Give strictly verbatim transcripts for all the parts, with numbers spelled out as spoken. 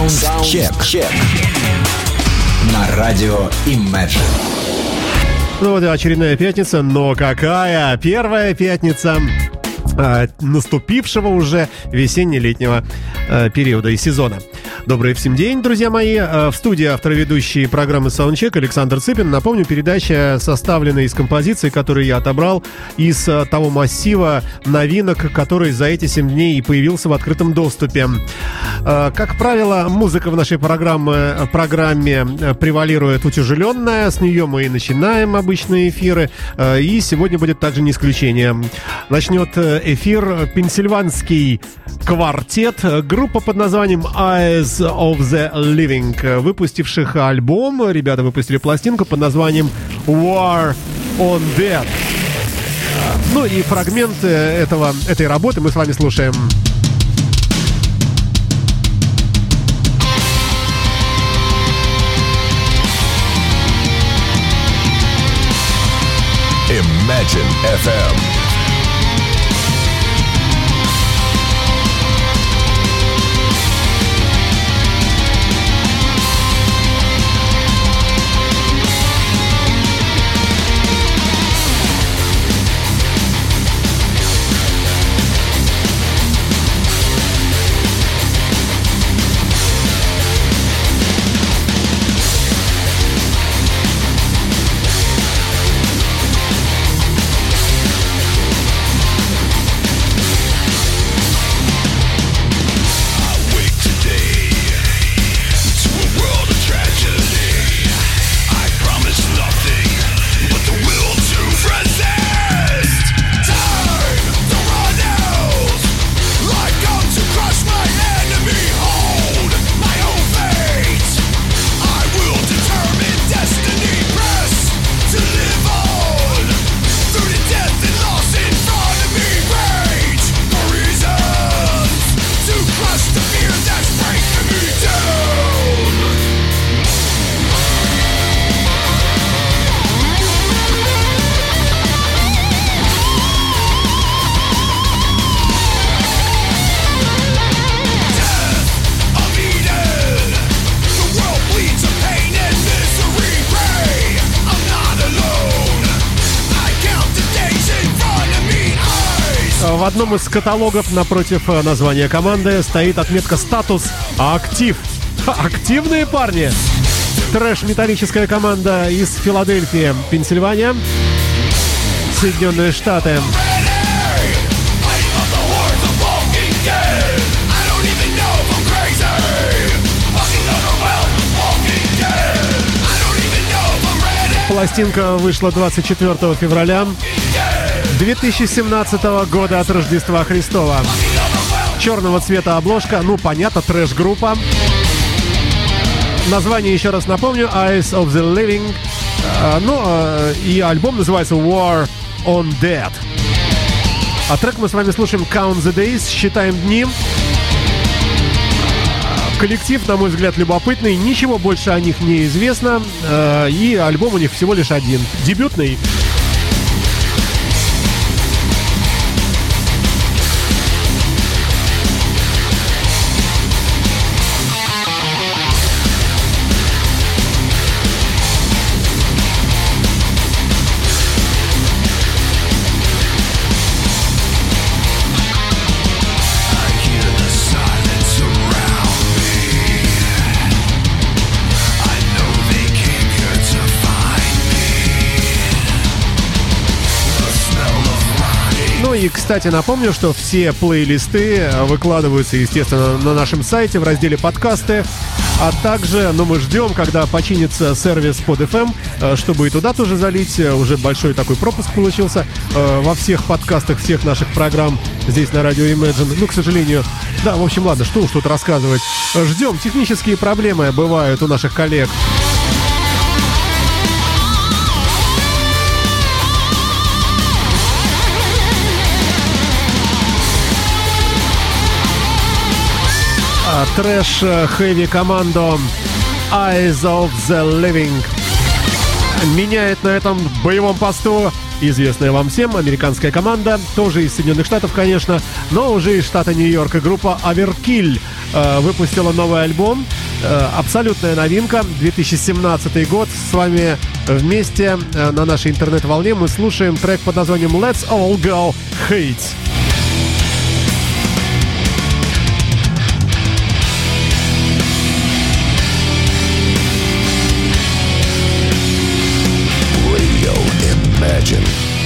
Саундчек. На радио Imagine. Ну вот и очередная пятница, но какая? Первая пятница э, наступившего уже весенне-летнего э, периода и сезона. Добрый всем день, друзья мои. В студии автор и ведущий программы Soundcheck Александр Цыпин. Напомню, передача составлена из композиций, которые я отобрал из того массива новинок, который за эти семь дней и появился в открытом доступе. Как правило, музыка в нашей программе, программе превалирует утяжеленная. С нее мы и начинаем обычные эфиры. И сегодня будет также не исключение. Начнет эфир пенсильванский квартет, группа под названием Eyes of the Living, выпустивших альбом. Ребята выпустили пластинку под названием War on Dead. Ну и фрагмент этого, этой работы мы с вами слушаем. Imagine эф эм. В одном из каталогов напротив названия команды стоит отметка «Статус актив». Активные парни! Трэш-металлическая команда из Филадельфии, Пенсильвания, Соединенные Штаты. Пластинка вышла двадцать четвёртого февраля две тысячи семнадцатого года от Рождества Христова. Черного цвета обложка, ну понятно, трэш-группа. Название еще раз напомню: Eyes of the Living. А, ну а, и альбом называется War on Dead. А трек мы с вами слушаем Count the Days, считаем дни. Коллектив, на мой взгляд, любопытный, ничего больше о них не известно. А, и альбом у них всего лишь один, дебютный. И, кстати, напомню, что все плейлисты выкладываются, естественно, на нашем сайте в разделе «Подкасты». А также, ну, мы ждем, когда починится сервис под эф эм, чтобы и туда тоже залить. Уже большой такой пропуск получился во всех подкастах, всех наших программ здесь на радио Imagine. Ну, к сожалению, да, в общем, ладно, что уж тут рассказывать. Ждем. Технические проблемы бывают у наших коллег. Трэш-хэви команду Eyes of the Living меняет на этом боевом посту известная вам всем, американская команда, тоже из Соединенных Штатов, конечно, но уже из штата Нью-Йорк. И группа Overkill э, выпустила новый альбом. Э, абсолютная новинка, две тысячи семнадцатый год. С вами вместе э, на нашей интернет-волне мы слушаем трек под названием Let's All Go Hate. Imagine.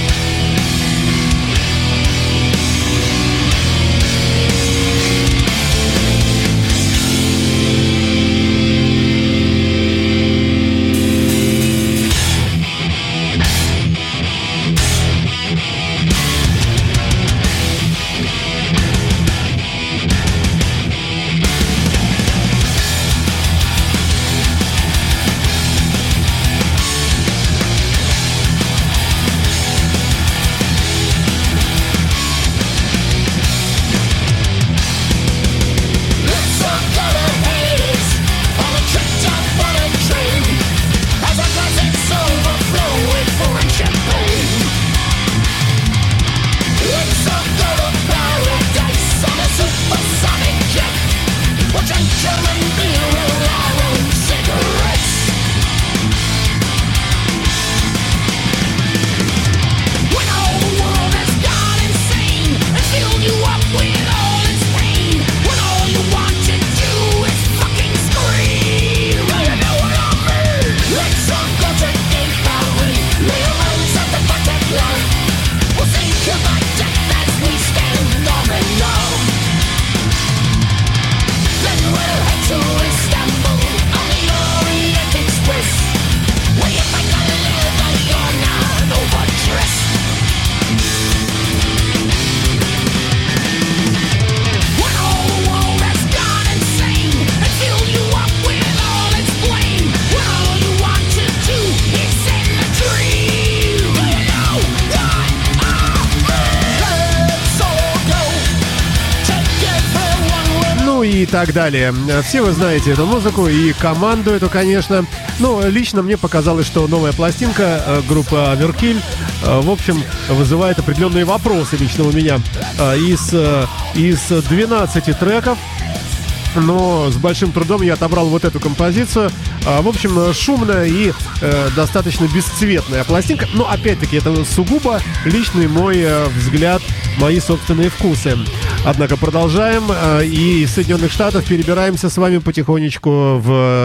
И так далее. Все вы знаете эту музыку и команду эту, конечно. Ну, лично мне показалось, что новая пластинка э, группы Overkill, э, в общем, вызывает определенные вопросы лично у меня. Э, из, э, из двенадцати треков, но с большим трудом я отобрал вот эту композицию. В общем, шумная и э, достаточно бесцветная пластинка. Но, опять-таки, это сугубо личный мой э, взгляд, мои собственные вкусы. Однако продолжаем. Э, и из Соединенных Штатов перебираемся с вами потихонечку в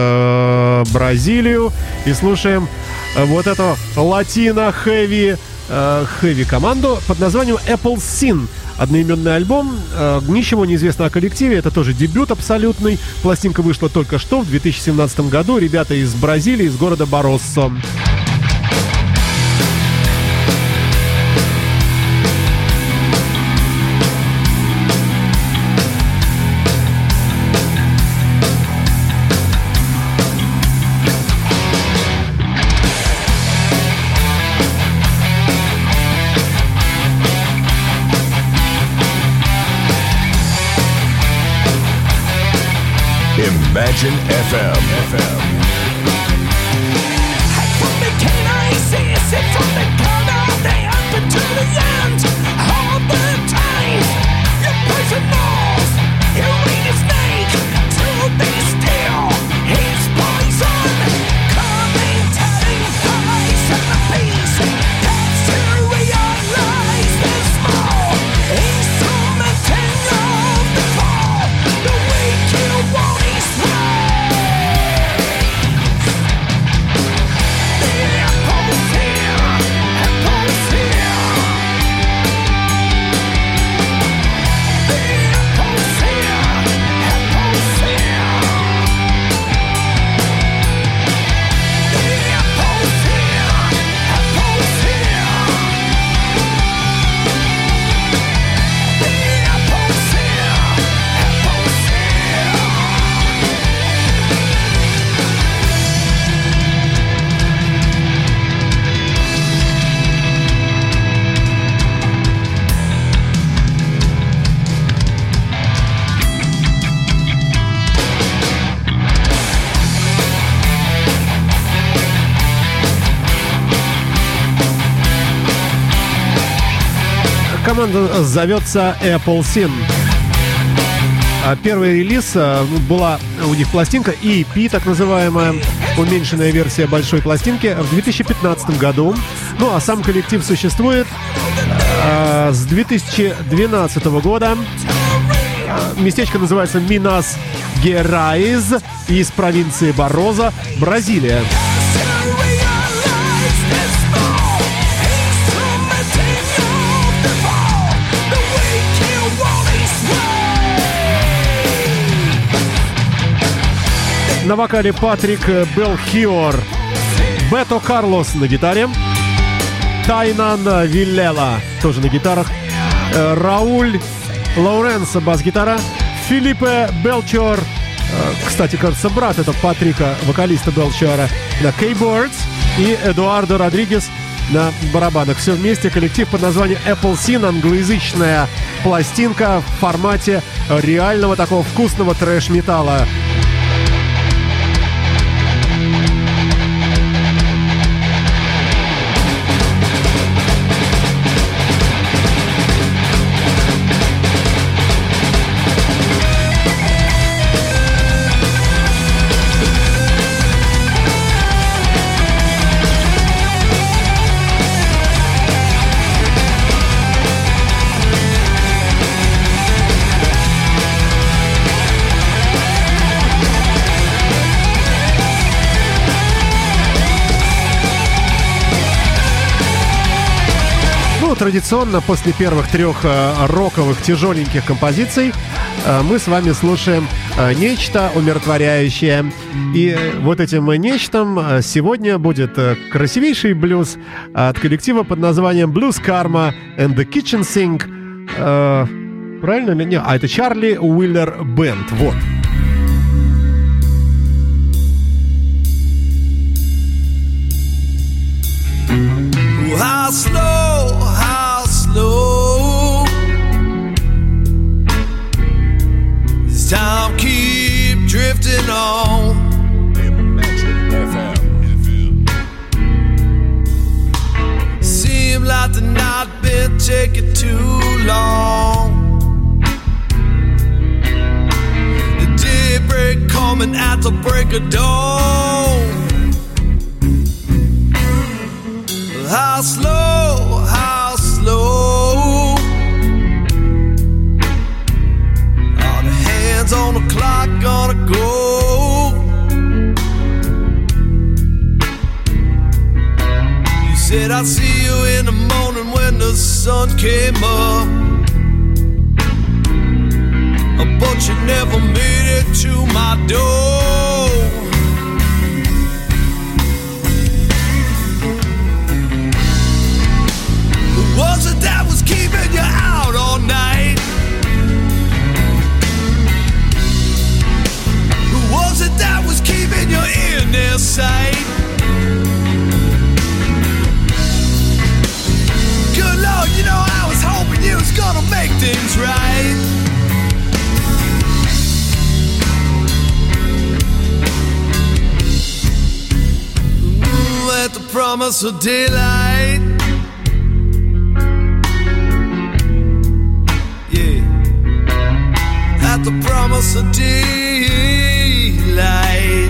э, Бразилию. И слушаем э, вот эту латино-хэви э, хэви команду под названием Apple Sin. Одноименный альбом, э, ничего не известно о коллективе, это тоже дебют абсолютный. Пластинка вышла только что, в две тысячи семнадцатом году. Ребята из Бразилии, из города Бароссо. Imagine эф эм. эф эм. Команда зовется Appleseed. Первый релиз была у них пластинка и пи, так называемая, уменьшенная версия большой пластинки, в две тысячи пятнадцатом году. Ну а сам коллектив существует э, с две тысячи двенадцатого года. Местечко называется Минас Герайз, из провинции Бароза, Бразилия. На вокале Патрик Белхиор, Бето Карлос на гитаре, Тайнан Виллела тоже на гитарах, Рауль Лоуренсо бас-гитара, Филиппе Белчор, кстати, кажется, брат это Патрика, вокалиста Белчора, на кейбордс, и Эдуардо Родригес на барабанах. Все вместе коллектив под названием Appleseed, англоязычная пластинка в формате реального такого вкусного трэш-металла. Традиционно после первых трех э, роковых тяжеленьких композиций э, мы с вами слушаем э, нечто умиротворяющее. И э, вот этим нечтом э, сегодня будет э, красивейший блюз от коллектива под названием Blues Karma and the Kitchen Sink. Э, правильно? Не, а это Чарли Уиллер Бэнд. Вот. How slow, how slow this time keep drifting on. Seem like the night been taking too long. The daybreak coming at the break of dawn. How slow, how slow are the hands on the clock gonna go? You said I'd see you in the morning when the sun came up, but you never made it to my door. Was it that was keeping you out all night? Who was it that was keeping you in their sight? Good Lord, you know I was hoping you was gonna make things right. Ooh, at the promise of daylight. The promise of daylight.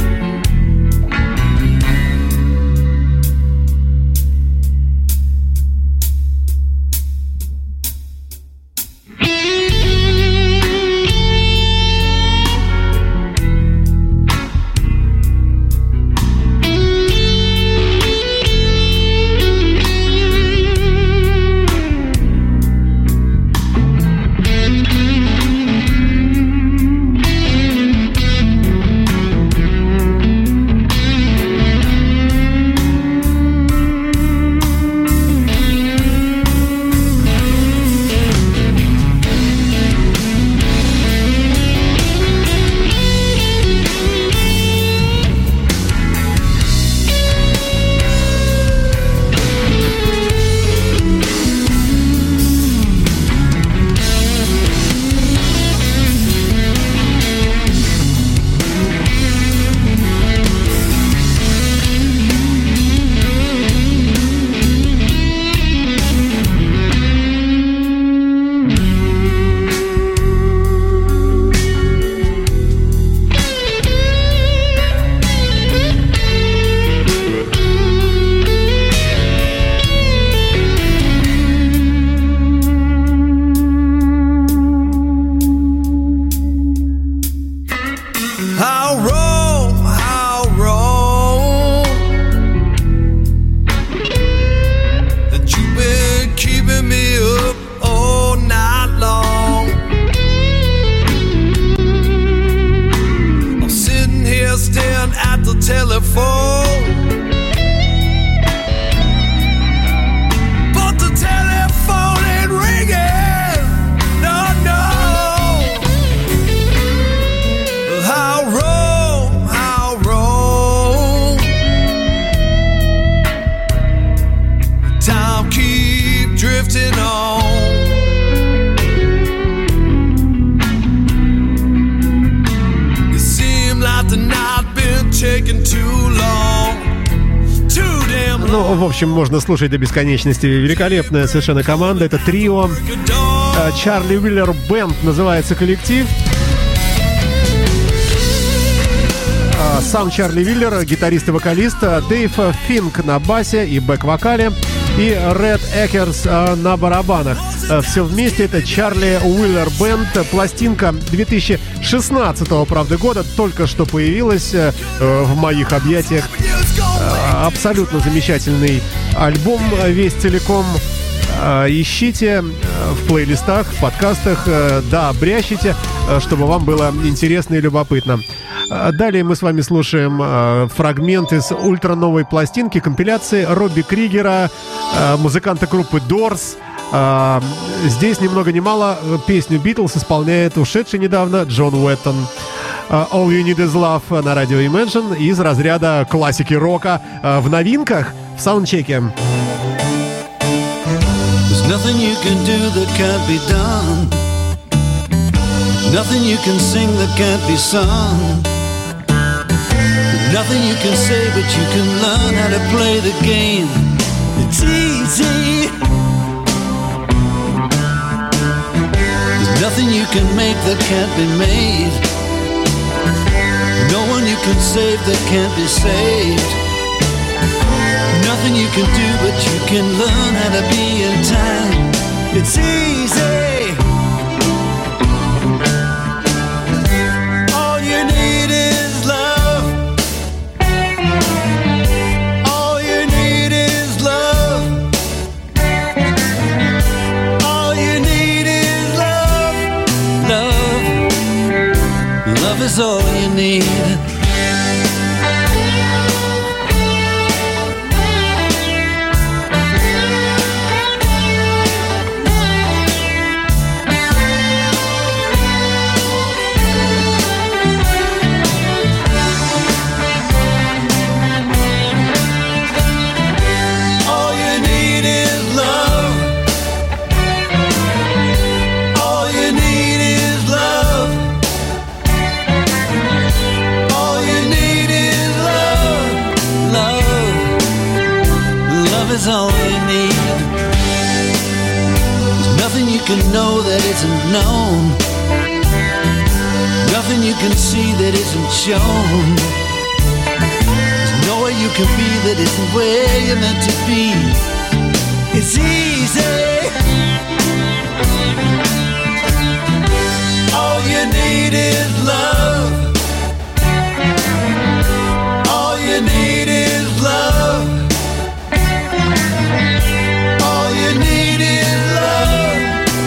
taking too long. Too damn long. Ну, в общем, можно слушать до бесконечности. Великолепная совершенно команда. Это трио. Чарли Уиллер Бэнд называется коллектив. Сам Чарли Уиллер, гитарист и вокалист, Дэйв Финк на басе и бэк-вокале, и Ред Экерс на барабанах. Все вместе это Чарли Уиллер Бэнд. Пластинка две тысячи шестнадцатого, правда, года, только что появилась в моих объятиях. Абсолютно замечательный альбом, весь целиком. Ищите в плейлистах, в подкастах, да, брящите, чтобы вам было интересно и любопытно. Далее мы с вами слушаем фрагмент из ультра-новой пластинки, компиляции Робби Кригера, музыканта группы Doors. Здесь ни много ни мало песню Beatles исполняет ушедший недавно Джон Уэттон. All You Need Is Love на радио Imagine из разряда классики рока в новинках в саундчеке. Nothing you can do that can't be done. Nothing you can sing that can't be sung. Nothing you can say, but you can learn how to play the game. It's easy. There's nothing you can make that can't be made. No one you can save that can't be saved. Nothing you can do, but you can learn how to be in time. It's easy. All you need is love. All you need is love. All you need is love. Love. Love is all you need. Can know that isn't known. Nothing you can see that isn't shown. There's nowhere you can be that isn't where you're meant to be. It's easy. All you need is love. All you need is love. All you need is love.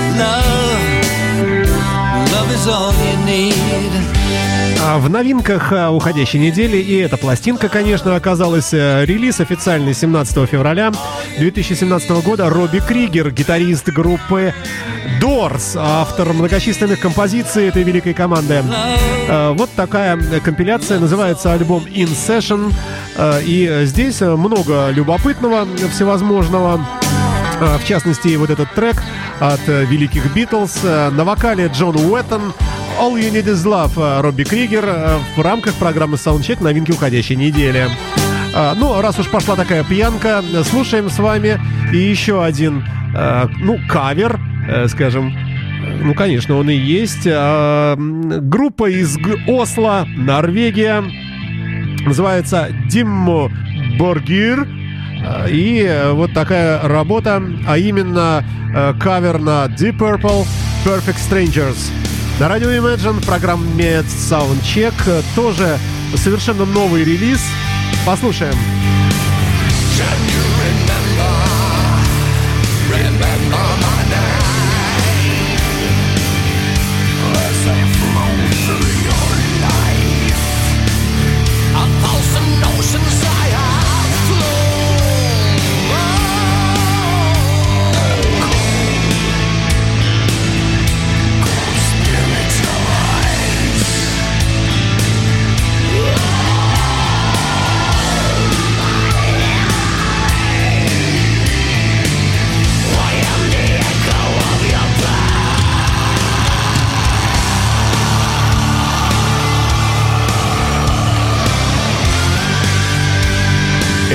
В новинках уходящей недели и эта пластинка, конечно, оказалась. Релиз официальный семнадцатого февраля две тысячи семнадцатого года. Робби Кригер, гитарист группы Doors, автор многочисленных композиций этой великой команды. Вот такая компиляция, называется альбом In Session. И здесь много любопытного всевозможного. В частности, вот этот трек от великих Beatles. На вокале Джон Уэттон. All You Need Is Love, Робби Кригер в рамках программы Soundcheck новинки уходящей недели. Ну, раз уж пошла такая пьянка, слушаем с вами и еще один, ну, кавер, скажем. Ну, конечно, он и есть. Группа из Осло, Норвегия. Называется Dimmu Borgir. И вот такая работа, а именно кавер на Deep Purple Perfect Strangers. На радио Imagine в программе Soundcheck тоже совершенно новый релиз. Послушаем.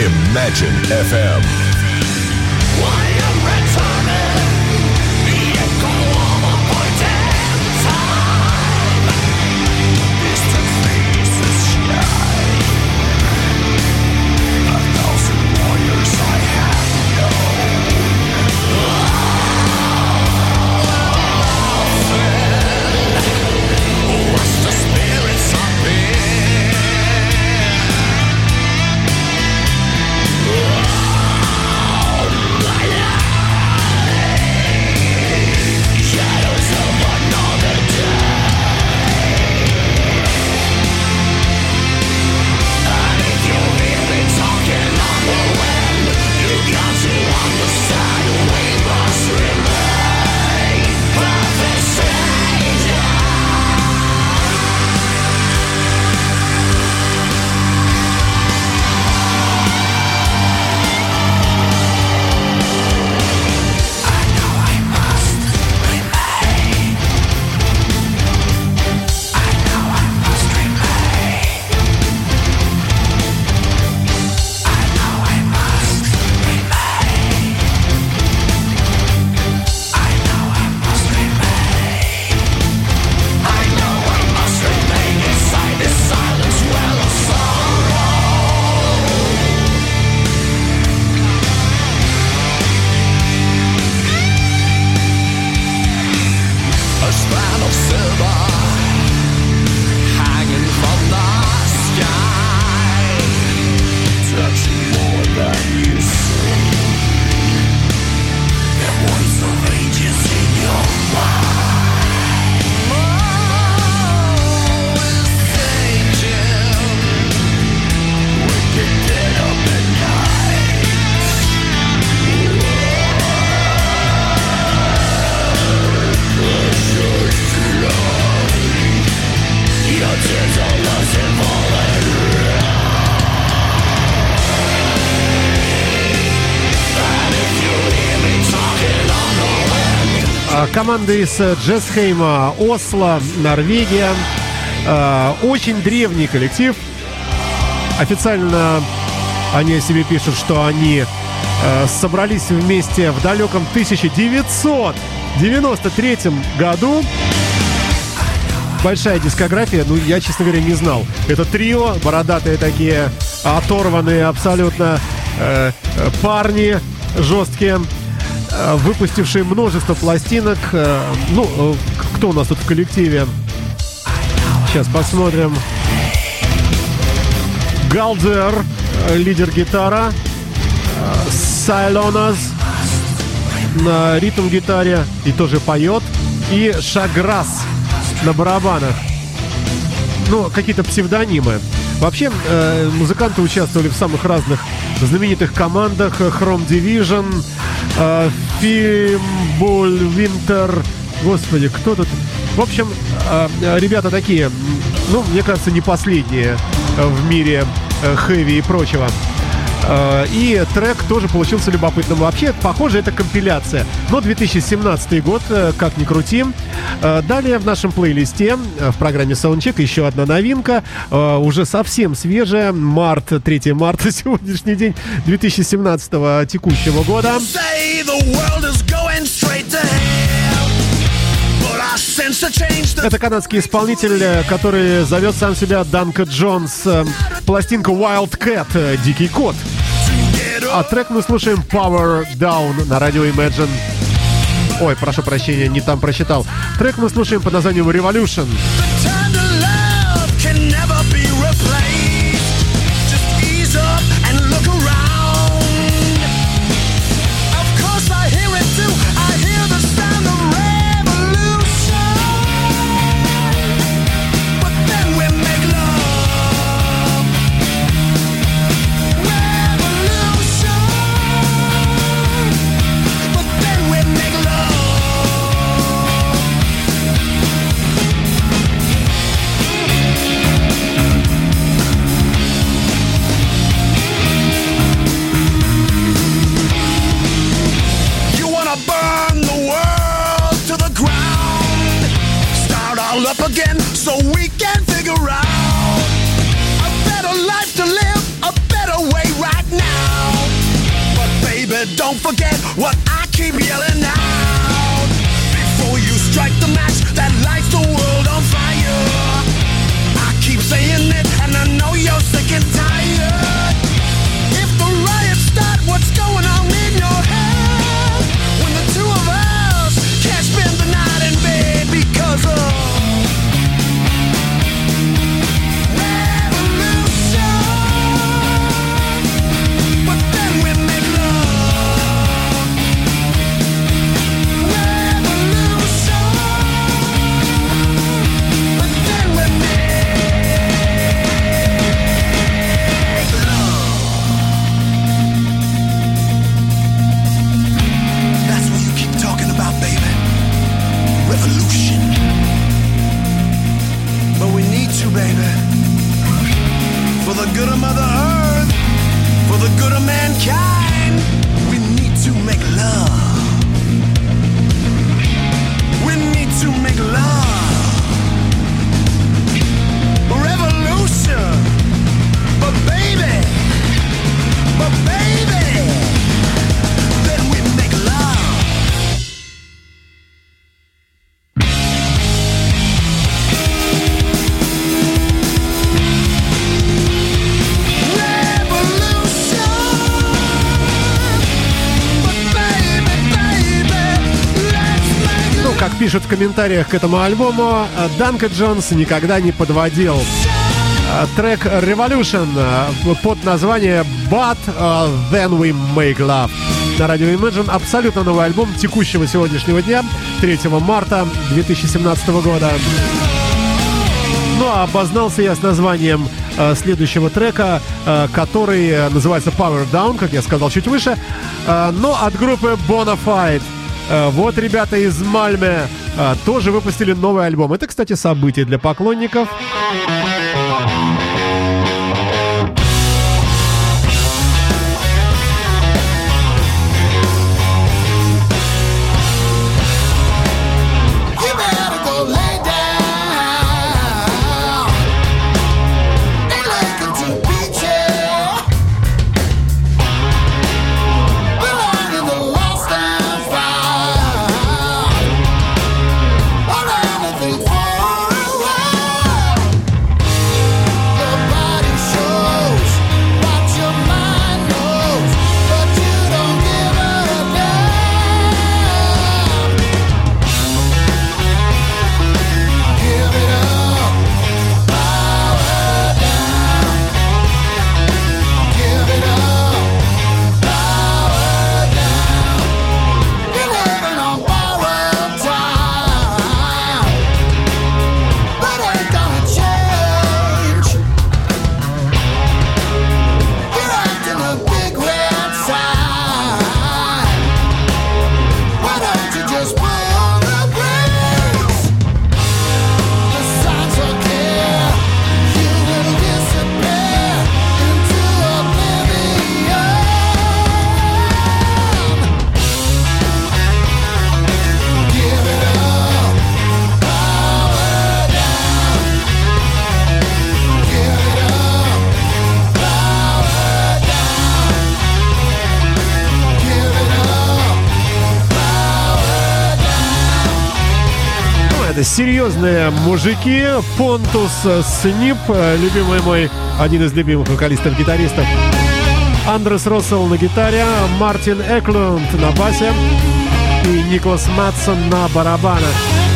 Imagine эф эм. Команда из Джесхейма, Осло, Норвегия. Очень древний коллектив. Официально они о себе пишут, что они собрались вместе в далеком тысяча девятьсот девяносто третьем году. Большая дискография, ну я, честно говоря, не знал. Это трио, бородатые такие, оторванные абсолютно э, парни, жесткие, э, выпустившие множество пластинок. Э, ну, э, кто у нас тут в коллективе? Сейчас посмотрим. Галдер, лидер гитара, э, Сайлонас на ритм-гитаре и тоже поет, и Шаграс на барабанах. Ну, какие-то псевдонимы. Вообще, э, музыканты участвовали в самых разных знаменитых командах. Chrome Division, э, Fimbul Winter. Господи, кто тут? В общем, э, ребята такие, ну, мне кажется, не последние в мире э, хэви и прочего. И трек тоже получился любопытным. Вообще, похоже, это компиляция. Но две тысячи семнадцатый год, как ни крути. Далее в нашем плейлисте в программе Soundcheck еще одна новинка. Уже совсем свежая. Март, третьего марта, сегодняшний день две тысячи семнадцатого текущего года. Это канадский исполнитель, который зовет сам себя Данка Джонс. Пластинка Wildcat, Дикий кот. А трек мы слушаем Power Down на радио Imagine. Ой, прошу прощения, не там прочитал. Трек мы слушаем под названием Revolution. don't forget what I keep yelling out. Before you strike the match that lights the world on fire, I keep saying it and I know you're sick and tired. If the riots start, what's going on in your head? When the two of us can't spend the night in bed because of baby, for the good of Mother Earth, for the good of mankind, we need to make love. We need to make love. Revolution, but baby, but baby, then we make love. Как пишут в комментариях к этому альбому, Данка Джонс никогда не подводил. Трек Revolution под названием But Then We Make Love на радио Imagine. Абсолютно новый альбом текущего сегодняшнего дня, третьего марта две тысячи семнадцатого года. Ну а обознался я с названием следующего трека, который называется Power Down, как я сказал чуть выше, но от группы Bonafide. Вот ребята из Мальме тоже выпустили новый альбом. Это, кстати, событие для поклонников. Серьезные мужики. Понтус Снип, любимый мой, один из любимых вокалистов-гитаристов. Андрес Россел на гитаре, Мартин Эклунд на басе и Никлас Матсон на барабанах.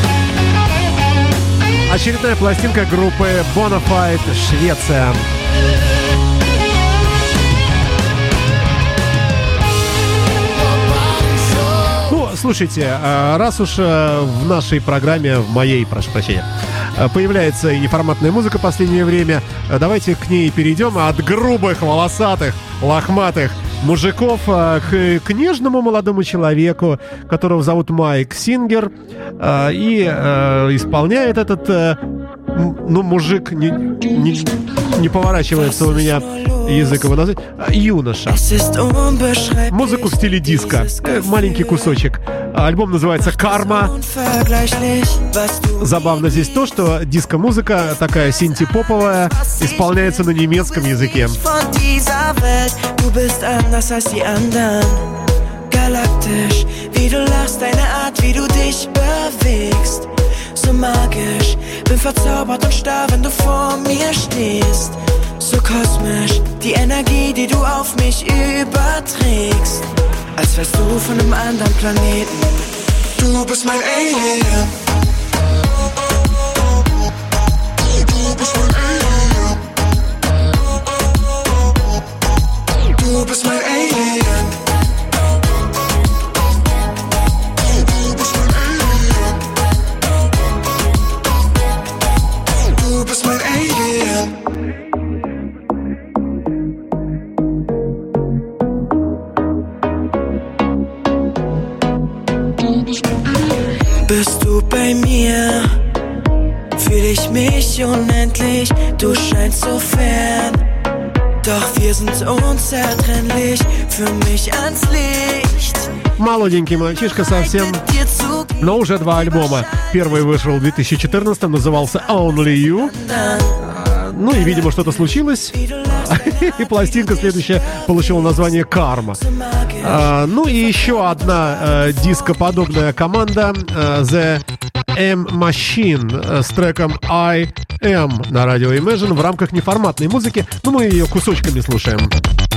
Очередная пластинка группы Bonafide, Швеция. Слушайте, раз уж в нашей программе, в моей, прошу прощения, появляется неформатная музыка в последнее время, давайте к ней перейдем от грубых, волосатых, лохматых мужиков к, к нежному молодому человеку, которого зовут Майк Сингер, и исполняет этот, ну, мужик, не, не, не поворачивается у меня язык его назвать, юноша. Музыку в стиле диско, маленький кусочек. Альбом называется «Карма». Забавно здесь то, что диско-музыка такая синти-поповая исполняется на немецком языке. galaktisch, wie du lachst, deine Art, wie du dich bewegst. So magisch, bin verzaubert und starr, wenn du vor mir stehst. So kosmisch, die Energie, die du auf mich überträgst. Als wärst du von einem anderen Planeten. Du bist mein Alien. Du bist mein Alien. Du bist mein Alien. Du bist mein Alien. Du bist mein Alien. Bist du bei mir? Fühl ich mich unendlich, du scheinst so fern. Doch wir sind unzertrennlich, für mich ans Licht. Молоденький мальчишка совсем, но уже два альбома. Первый вышел в две тысячи четырнадцатом, назывался Only You. Ну и, видимо, что-то случилось. И пластинка следующая получила название «Карма». А, ну и еще одна а, дископодобная команда а, The M-Machine с треком I Am на радио Imagine в рамках неформатной музыки. Ну, мы ее кусочками слушаем.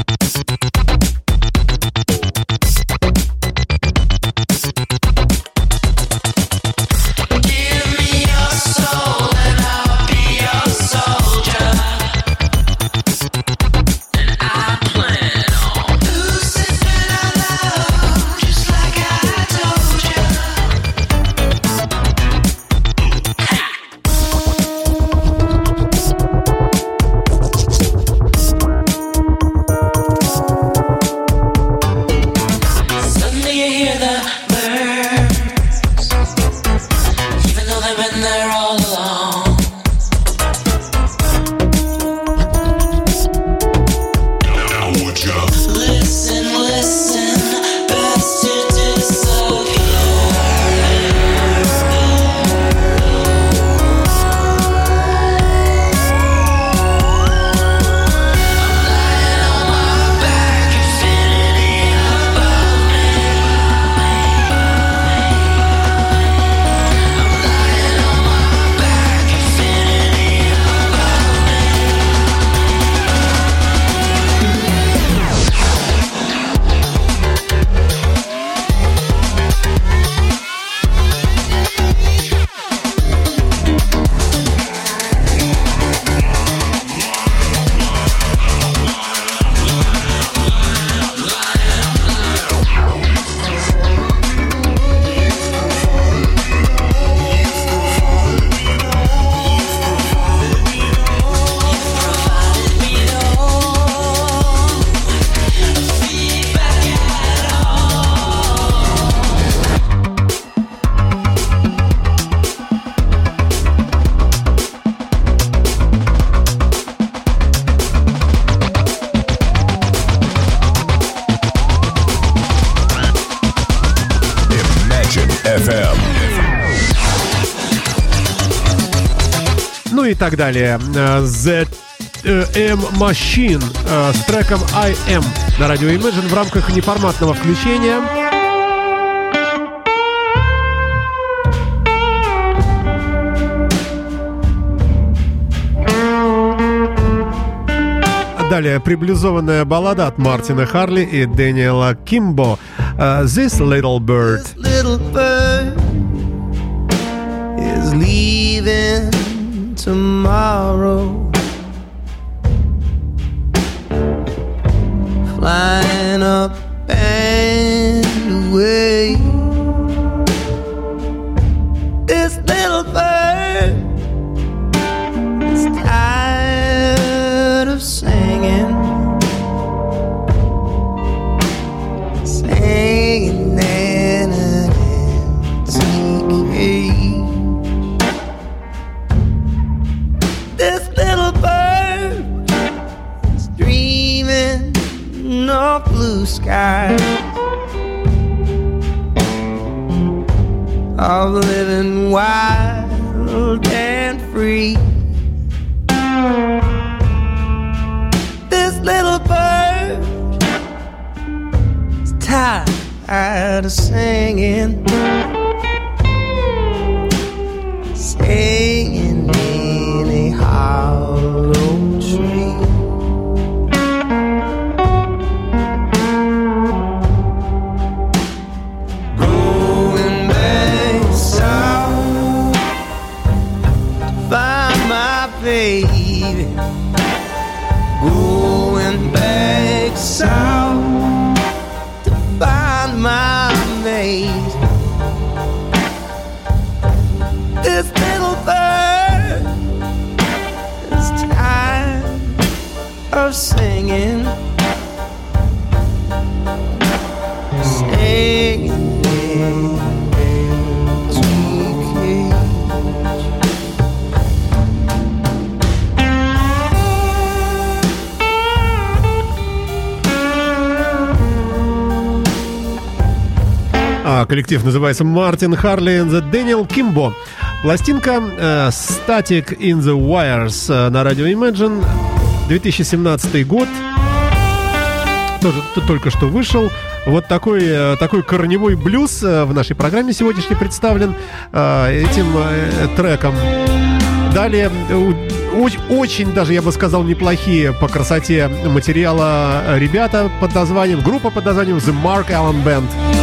Ну и так далее. The M-Machine с треком I Am на радио Imagine в рамках неформатного включения. Далее приблюзованная баллада от Мартина Харли и Дэниела Кимбо. uh, This Little Bird. This little bird is leaving tomorrow, flying up and away. This little bird is tired of singing, singing in an empty cage. This little bird is dreaming of blue skies, of living wild and free. This little bird is tired tired of singing, singing in a hollow tree. Going back south to find my baby. Going back south to find my mate. This little bird is tired of singing, singing in a tree cage. А, коллектив называется Мартин Харли and the Daniel Kimbo. Пластинка э, Static in the Wires э, на радио Imagine. две тысячи семнадцатый год. Тоже только что вышел. Вот такой, э, такой корневой блюз э, в нашей программе сегодняшней представлен э, этим э, треком. Далее э, очень даже, я бы сказал, неплохие по красоте материала ребята под названием, группа под названием The Mark Allen Band.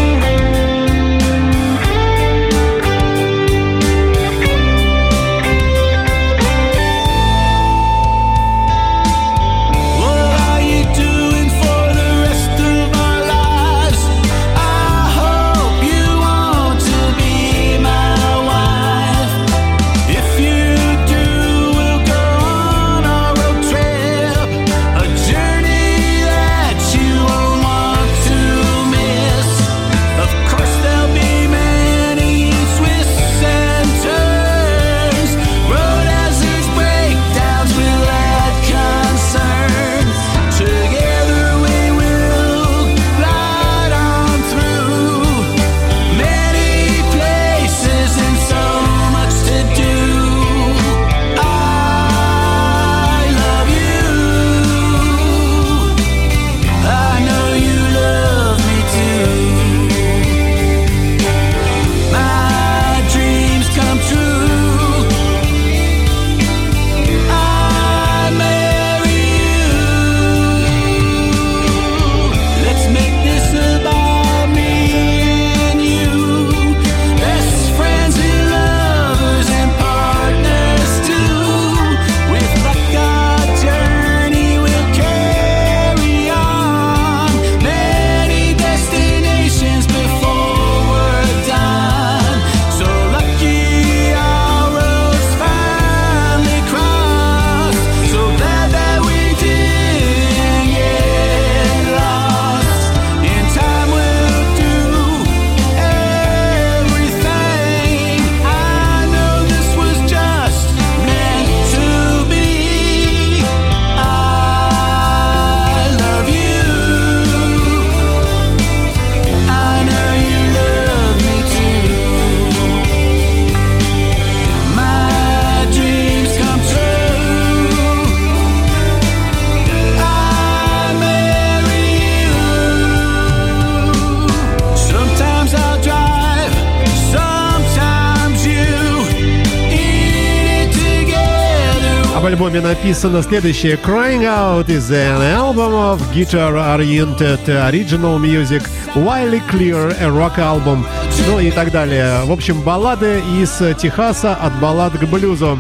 В альбоме написано следующее: Crying Out is an album of guitar-oriented original music, Wildly Clear, a rock album, ну и так далее. В общем, баллады из Техаса, от баллад к блюзу.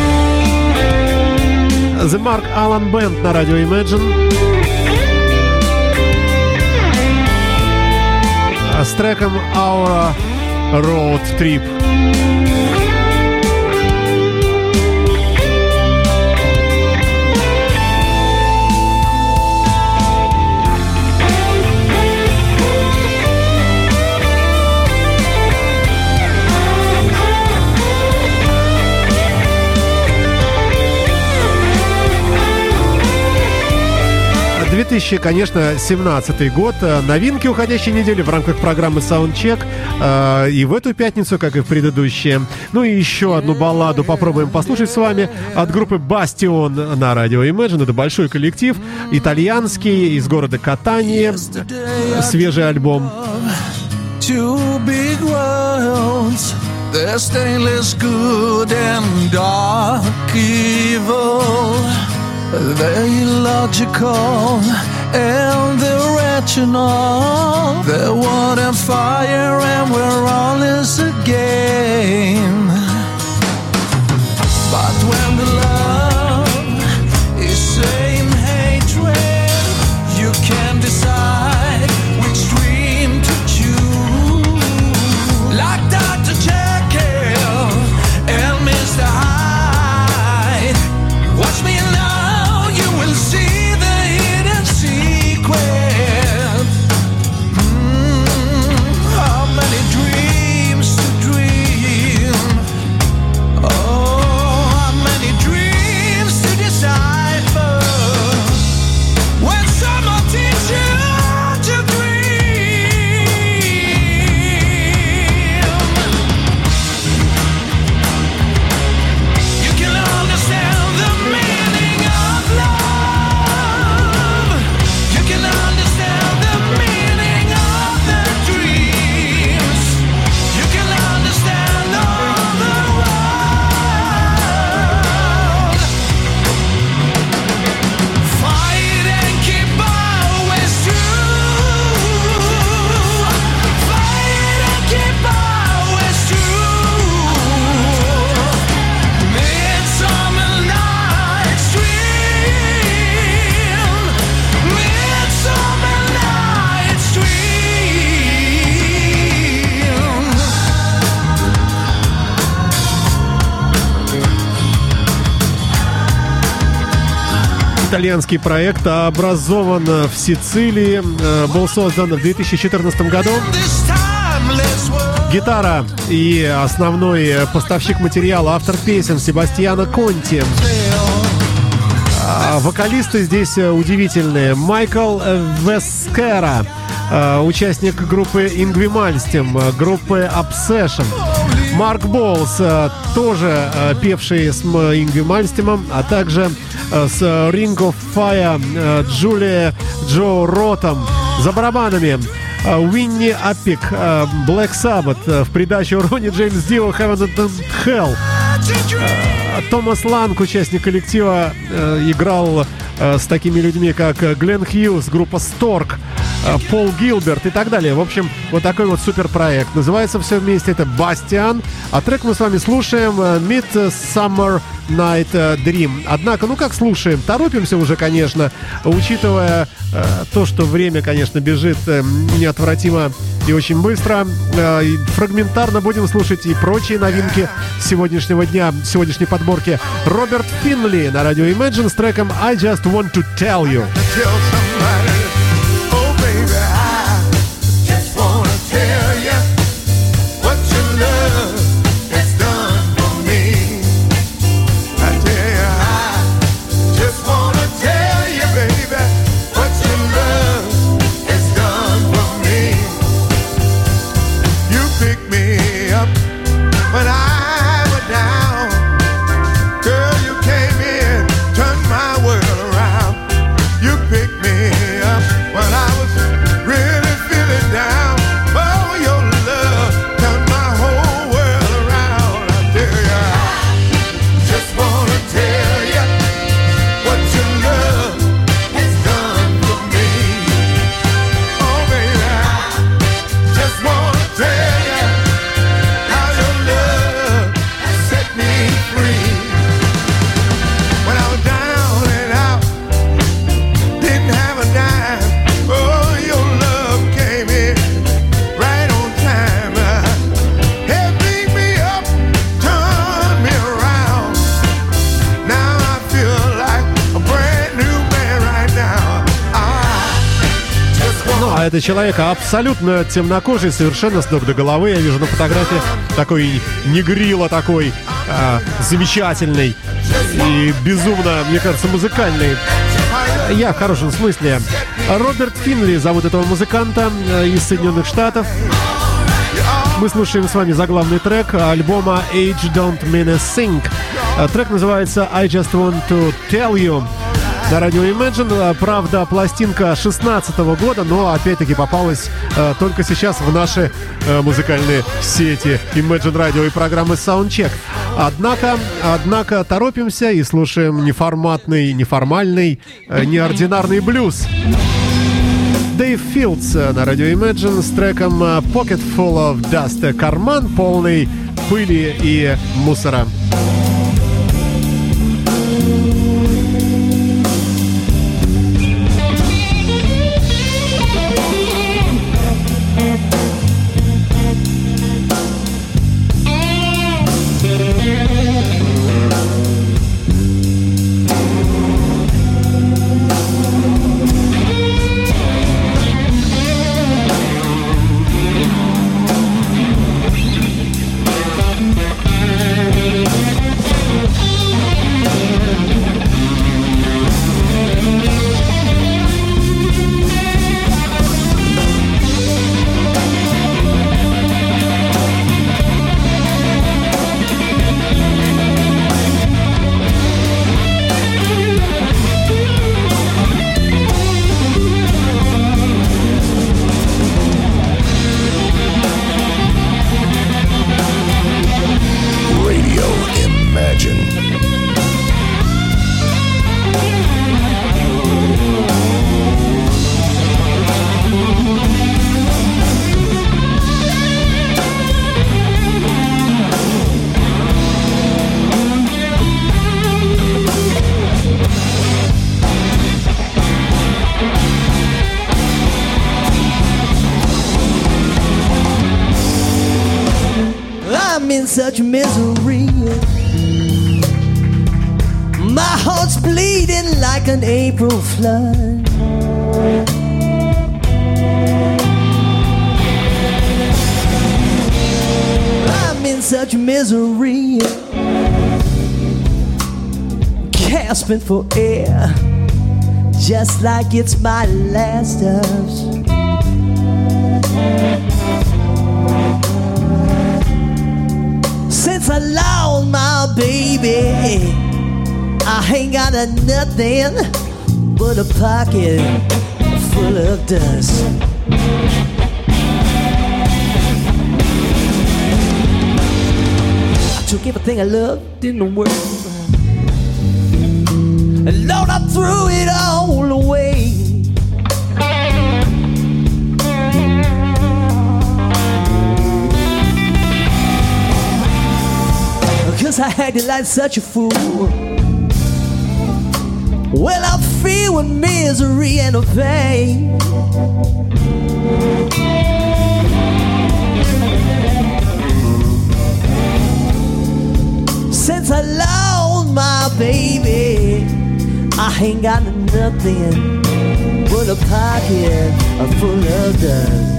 The Mark Allen Band на радио Imagine с треком Our Road Trip. две тысячи, конечно, семнадцатый год. Новинки уходящей недели в рамках программы Soundcheck. Э, и в эту пятницу, как и в предыдущие. Ну и еще одну балладу попробуем послушать с вами от группы Bastion на радио Imagine. Это большой коллектив, итальянский, из города Катания. Свежий альбом. two big worlds. They're stainless good and dark evil. They're illogical and they're rational. They're wood and fire and we're all is again. But when the love is same hatred, you can decide which dream to choose. Like Doctor Jekyll and Mister Hyde. Watch me now, you will see the hidden secret. Mm, how many dreams to dream? Oh, how many dreams to decipher? When someone teaches you to dream, you can understand the meaning of love. You can understand the meaning of their dreams. You can understand all the world. Fight and keep always true. Fight and keep always true. Midsummer Night's Dream. Midsummer Night's Dream. Итальянский проект образован в Сицилии, э, был создан в две тысячи четырнадцатом году. This timeless world. Гитара и основной поставщик материала, автор песен Себастьяно Конти. А вокалисты здесь удивительные. Майкл Вескера, э, участник группы Ингви Мальмстем, группы Obsession. Марк Болс, э, тоже э, певший с М- Ингви Мальмстемом, а также э, с Ring of Fire э, Джулия Джо Ротом. За барабанами э, Уинни Аппик, э, Black Sabbath, э, в придачу Ронни Джеймс Дио, Heaven and Hell. Э, Томас Ланг, участник коллектива, э, играл э, с такими людьми, как Глен Хьюз, группа Stork, э, Пол Гилберт и так далее. В общем, вот такой вот суперпроект. Называется все вместе это «Бастиан», а трек мы с вами слушаем э, «Midsummer Night Dream». Однако, ну как слушаем? Торопимся уже, конечно, учитывая э, то, что время, конечно, бежит э, неотвратимо и очень быстро. Э, и фрагментарно будем слушать и прочие новинки сегодняшнего дня, сегодняшней подборки. Роберт Финли на радио Imagine с треком «I Just Want to Tell You». Tell somebody, oh baby, I just wanna tell you what your love has done for me. I tell you, I just wanna tell you, baby, what your love has done for me. You picked me up when I was down. Girl, you came in, turned my world around. You picked me up when I was really feeling down. Oh, your love turned my whole world around. I tell you, I just wanna tell you what your love has done for me. Oh, baby, I just wanna tell you how your love has set me free. When I was down and out, didn't have a dime. Oh, your love came in right on time. Uh, helped pick me up, turned me around. Now I feel like a brand new man right now. I just Ну, want а это человек абсолютно темнокожий, совершенно с ног до головы. Я вижу на фотографии такой негрило такой, а, замечательный и безумно, мне кажется, музыкальный. Я в хорошем смысле. Роберт Финли зовут этого музыканта э, из Соединенных Штатов. Мы слушаем с вами заглавный трек альбома Age Don't Mean a Thing. Э, Трек называется I Just Want to Tell You. на радио Imagine. Правда, пластинка шестнадцатого года, но опять-таки попалась э, только сейчас в наши э, музыкальные сети Imagine Radio и программы Soundcheck. Однако, однако торопимся и слушаем неформатный, неформальный, э, неординарный блюз. Дэйв Филдс на радио Imagine с треком Pocket Full of Dust. Карман полный пыли и мусора. Such misery, my heart's bleeding like an April flood. I'm in such misery, gasping for air, just like it's my last house. Since I lost my baby, I ain't got a nothing but a pocket full of dust. I took everything I loved in the world, and Lord, I threw it all away. Cause I acted like such a fool. Well, I'm filled with misery and pain. Since I lost my baby, I ain't got nothing but a pocket full of dust.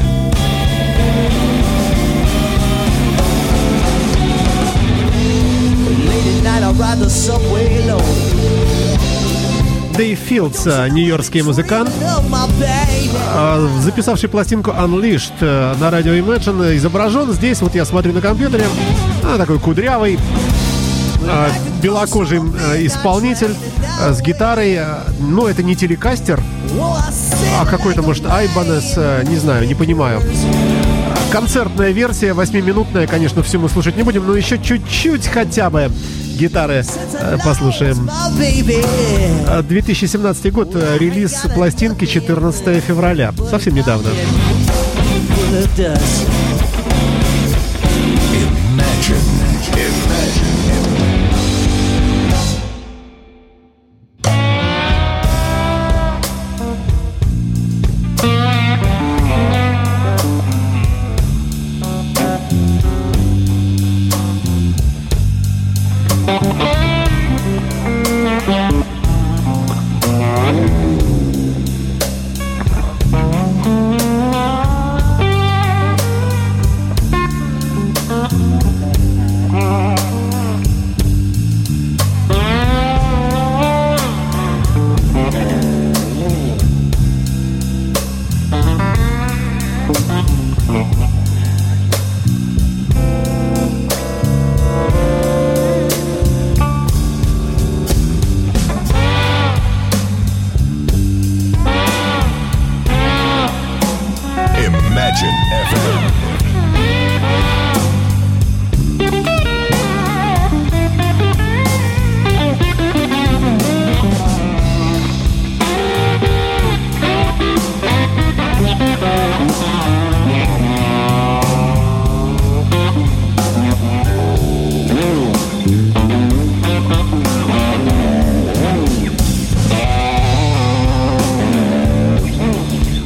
Дэйв Филдс, нью-йоркский музыкант, записавший пластинку Unleashed на радио Imagine, изображен здесь, вот я смотрю на компьютере, такой кудрявый, белокожий исполнитель с гитарой. Но это не телекастер, а какой-то, может, Ibanez, не знаю, не понимаю. Концертная версия, восьмиминутная, конечно, всю мы слушать не будем, но еще чуть-чуть хотя бы гитары э, послушаем. две тысячи семнадцатый год, релиз пластинки четырнадцатого февраля, совсем недавно.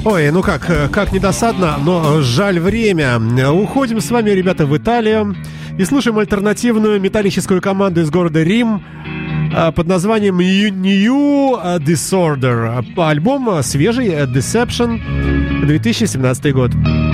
Ой, ну как, как недосадно, но жаль время. Уходим с вами, ребята, в Италию и слушаем альтернативную металлическую команду из города Рим под названием New Disorder. Альбом свежий, Deception, две тысячи семнадцатый год.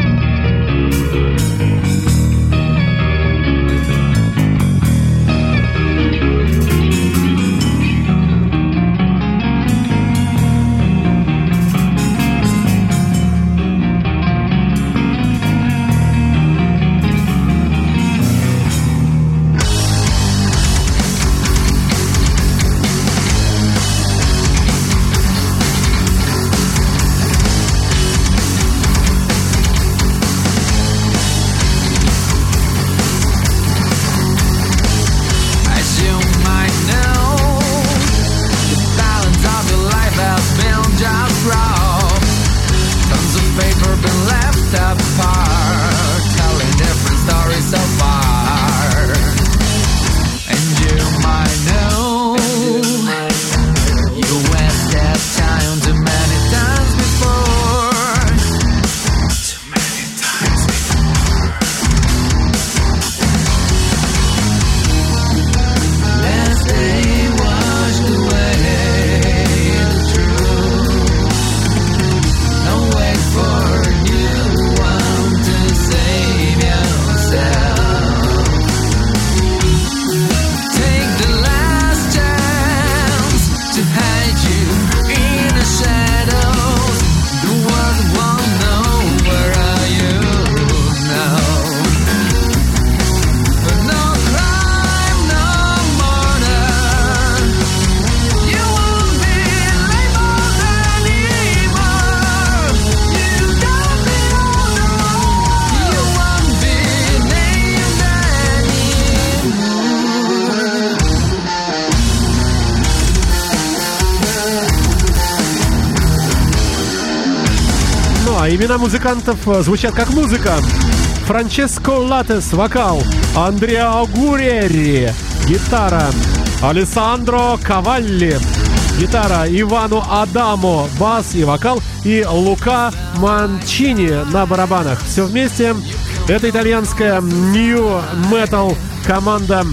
Имена музыкантов звучат как музыка. Франческо Латес — вокал, Андреа Гурери — гитара, Алессандро Кавалли — гитара, Ивану Адамо — бас и вокал, и Лука Манчини на барабанах. Все вместе это итальянская New Metal команда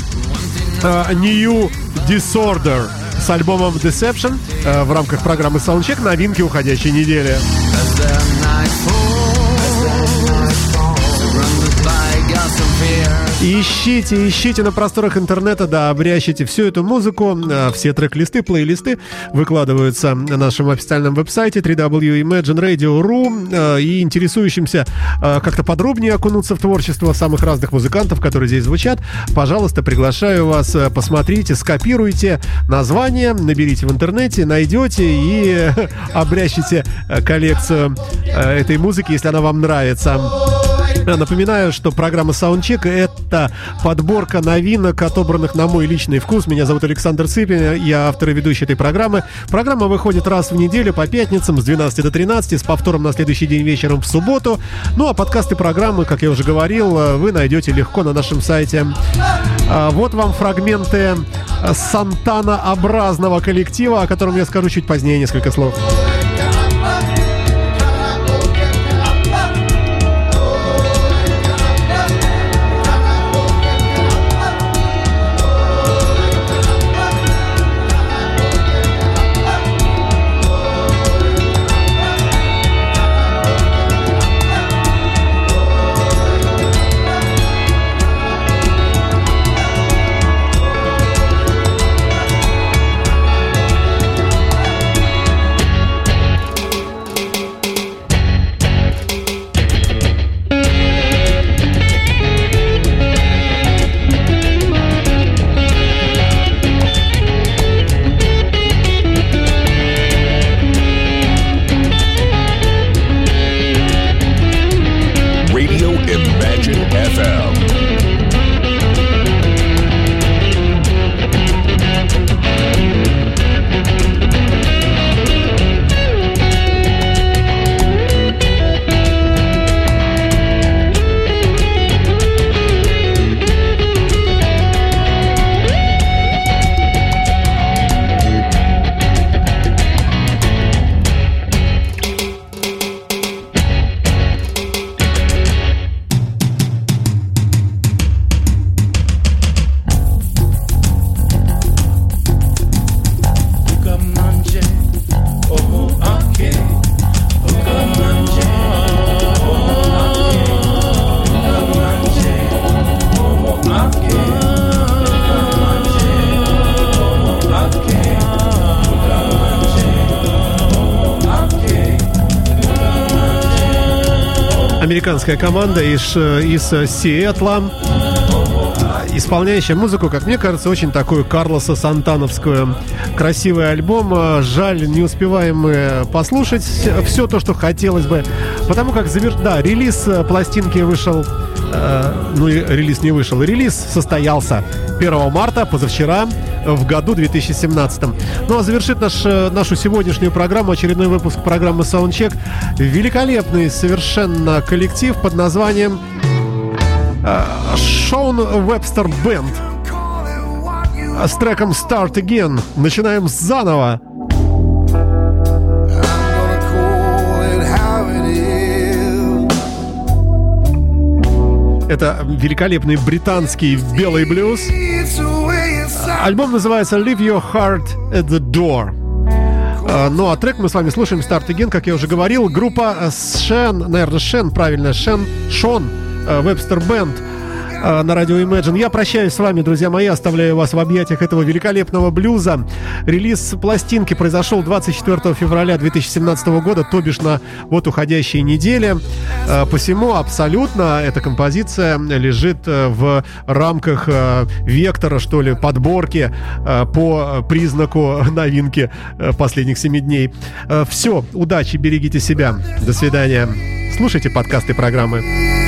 uh, New Disorder с альбомом Deception uh, в рамках программы Soundcheck, новинки уходящей недели. Ищите, ищите на просторах интернета, да, обрящите всю эту музыку. Все трек-листы, плейлисты выкладываются на нашем официальном веб-сайте дабл ю дабл ю дабл ю точка imagine radio точка ру. И интересующимся как-то подробнее окунуться в творчество самых разных музыкантов, которые здесь звучат, пожалуйста, приглашаю вас, посмотрите, скопируйте название, наберите в интернете, найдете и обрящите коллекцию этой музыки, если она вам нравится. Напоминаю, что программа Soundcheck — это подборка новинок, отобранных на мой личный вкус. Меня зовут Александр Цыпин, я автор и ведущий этой программы. Программа выходит раз в неделю по пятницам с двенадцати до тринадцати, с повтором на следующий день вечером в субботу. Ну а подкасты программы, как я уже говорил, вы найдете легко на нашем сайте. Вот вам фрагменты Сантана-образного коллектива, о котором я скажу чуть позднее несколько слов. американская команда из, из Сиэтла, исполняющая музыку, как мне кажется, очень такую Карлоса Сантановскую. Красивый альбом. Жаль, не успеваем мы послушать все то, что хотелось бы, потому как завер... да, релиз пластинки вышел, э, ну и релиз не вышел, релиз состоялся первого марта, позавчера, в году две тысячи семнадцатом. Ну а завершит наш, нашу сегодняшнюю программу, очередной выпуск программы Soundcheck, великолепный совершенно коллектив под названием Шон Вебстер Бенд с треком Start Again. Начинаем заново. Это великолепный британский белый блюз. Альбом называется Leave Your Heart at the Door. Ну а трек мы с вами слушаем Start Again, как я уже говорил. Группа Шен, наверное, Шен, правильно, Шен, Шон Вебстер Бенд на радио Imagine. Я прощаюсь с вами, друзья мои, оставляю вас в объятиях этого великолепного блюза. Релиз пластинки произошел двадцать четвёртого февраля две тысячи семнадцатого года, то бишь на вот уходящей неделе. Посему абсолютно эта композиция лежит в рамках вектора, что ли, подборки по признаку новинки последних семи дней. Все, удачи, берегите себя. До свидания. Слушайте подкасты программы.